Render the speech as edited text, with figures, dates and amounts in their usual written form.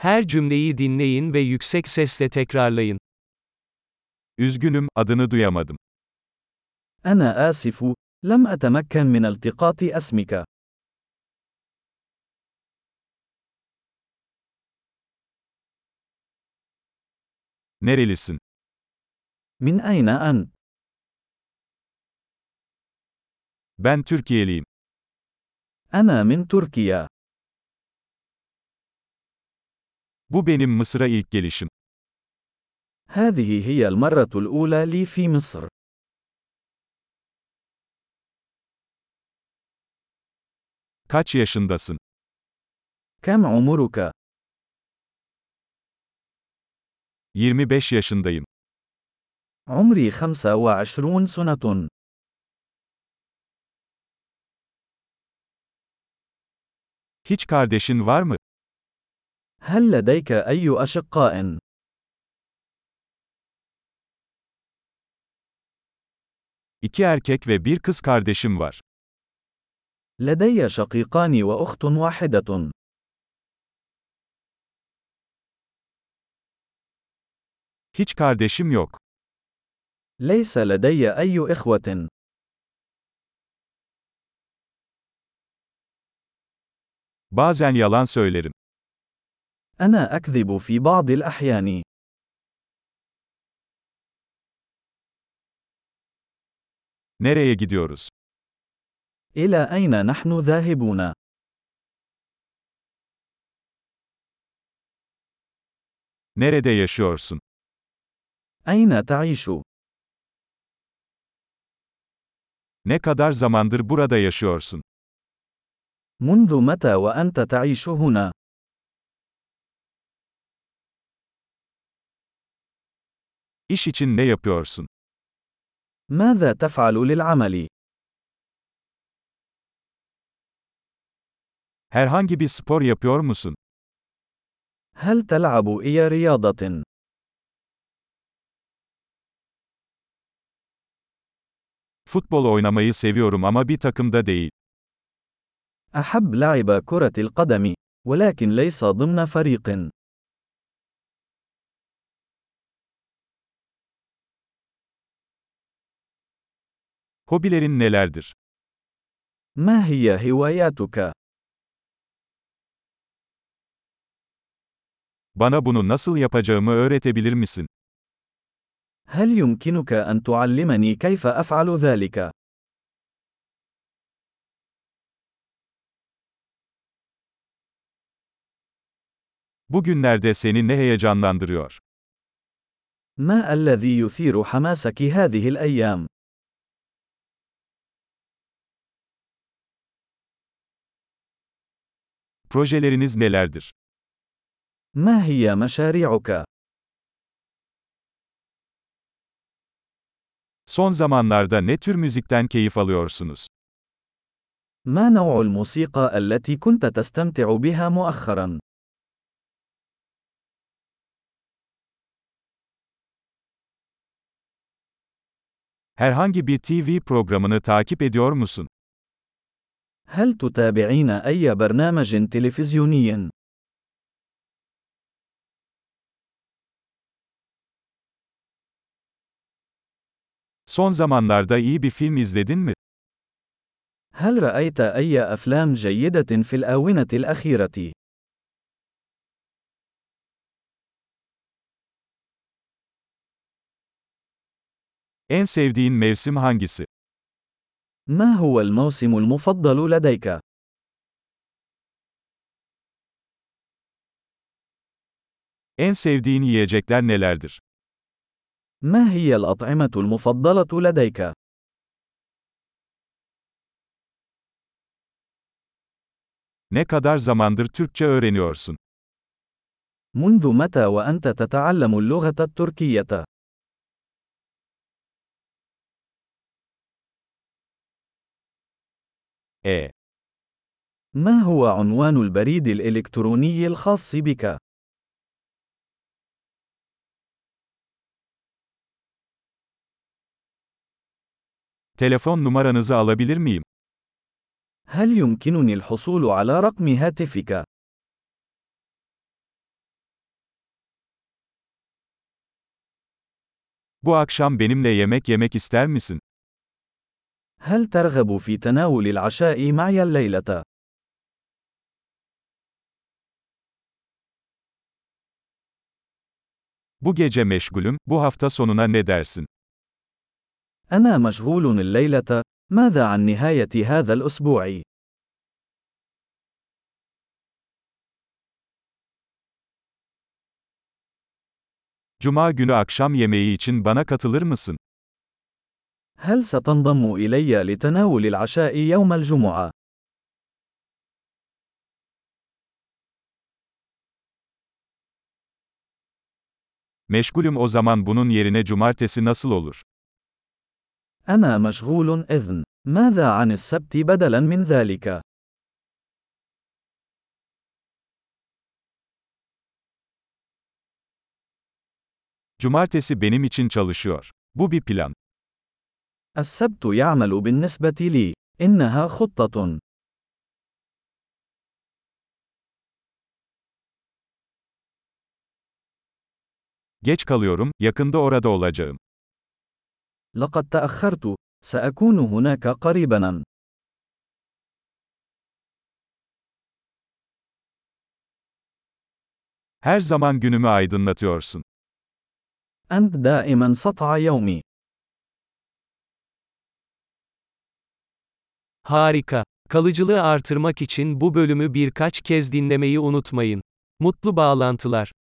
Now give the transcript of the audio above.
Her cümleyi dinleyin ve yüksek sesle tekrarlayın. Üzgünüm, adını duyamadım. أنا آسف، لم أتمكن من التقاط اسمك. Nerelisin? من أين أنت؟ Ben Türkiye'liyim. أنا من تركيا. Bu benim Mısır'a ilk gelişim. هذه هي المرة الأولى لي في مصر. Kaç yaşındasın? كم عمرك؟ 25 yaşındayım. عمري 25 سنة. Hiç kardeşin var mı? هل لديك أي أشقاء؟ İki erkek ve bir kız kardeşim var. لدي شقيقان وأخت واحدة. Hiç kardeşim yok. ليس لدي أي إخوة. Bazen yalan söylerim. أنا أكذب في بعض الأحيان. Nereye gidiyoruz? إلى أين نحن ذاهبون؟ Nerede yaşıyorsun? أين تعيش؟ Ne kadar zamandır burada yaşıyorsun? منذ متى وأنت تعيش هنا؟ İş için ne yapıyorsun? ماذا تفعل للعمل؟ Herhangi bir spor yapıyor musun? هل تلعب أي رياضة؟ Futbol oynamayı seviyorum ama bir takımda değil. أحب لعب كرة القدم، ولكن ليس ضمن فريق. Hobilerin nelerdir? ما هي هواياتك؟ Bana bunu nasıl yapacağımı öğretebilir misin? هل يمكنك أن تعلمني كيف أفعل ذلك؟ Bugünlerde seni ne heyecanlandırıyor? ما الذي يثير حماسك هذه الأيام؟ Projeleriniz nelerdir? ما هي مشاريعك؟ Son zamanlarda ne tür müzikten keyif alıyorsunuz? ما نوع الموسيقى التي كنت تستمتع بها مؤخرا؟ Herhangi bir TV programını takip ediyor musun? هل تتابعين أي برنامج تلفزيوني؟ Son zamanlarda iyi bir film izledin mi? هل رأيت أي أفلام جيدة في الآونة الأخيرة؟ En sevdiğin mevsim hangisi? ما هو الموسم المفضل لديك؟ En sevdiğin yiyecekler nelerdir? ما هي الأطعمة المفضلة لديك؟ Ne kadar zamandır Türkçe öğreniyorsun? منذ متى وأنت تتعلم اللغة التركية؟ E. ما هو عنوان البريد الإلكتروني الخاص بك؟ Telefon numaranızı alabilir miyim? هل يمكنني الحصول على رقم هاتفك؟ Bu akşam benimle yemek yemek ister misin? هل ترغب في تناول العشاء معي الليلة؟ Bu gece meşgulüm, bu hafta sonuna ne dersin? أنا مشغول الليلة. ماذا عن نهاية هذا الأسبوع؟ Cuma günü akşam yemeği için bana katılır mısın? هل ستنضم إلي لتناول العشاء يوم الجمعة؟ Meşgulüm o zaman bunun yerine cumartesi nasıl olur? أنا مشغول إذن. ماذا عن السبت بدلاً من ذلك؟ Cumartesi benim için çalışıyor. Bu bir plan. السبت يعمل بالنسبة لي. إنها خطة. Geç kalıyorum, yakında orada olacağım. لقد تأخرت. سأكون هناك قريباً. Her zaman günümü aydınlatıyorsun. أنت دائماً سطع يومي. Harika. Kalıcılığı artırmak için bu bölümü birkaç kez dinlemeyi unutmayın. Mutlu bağlantılar.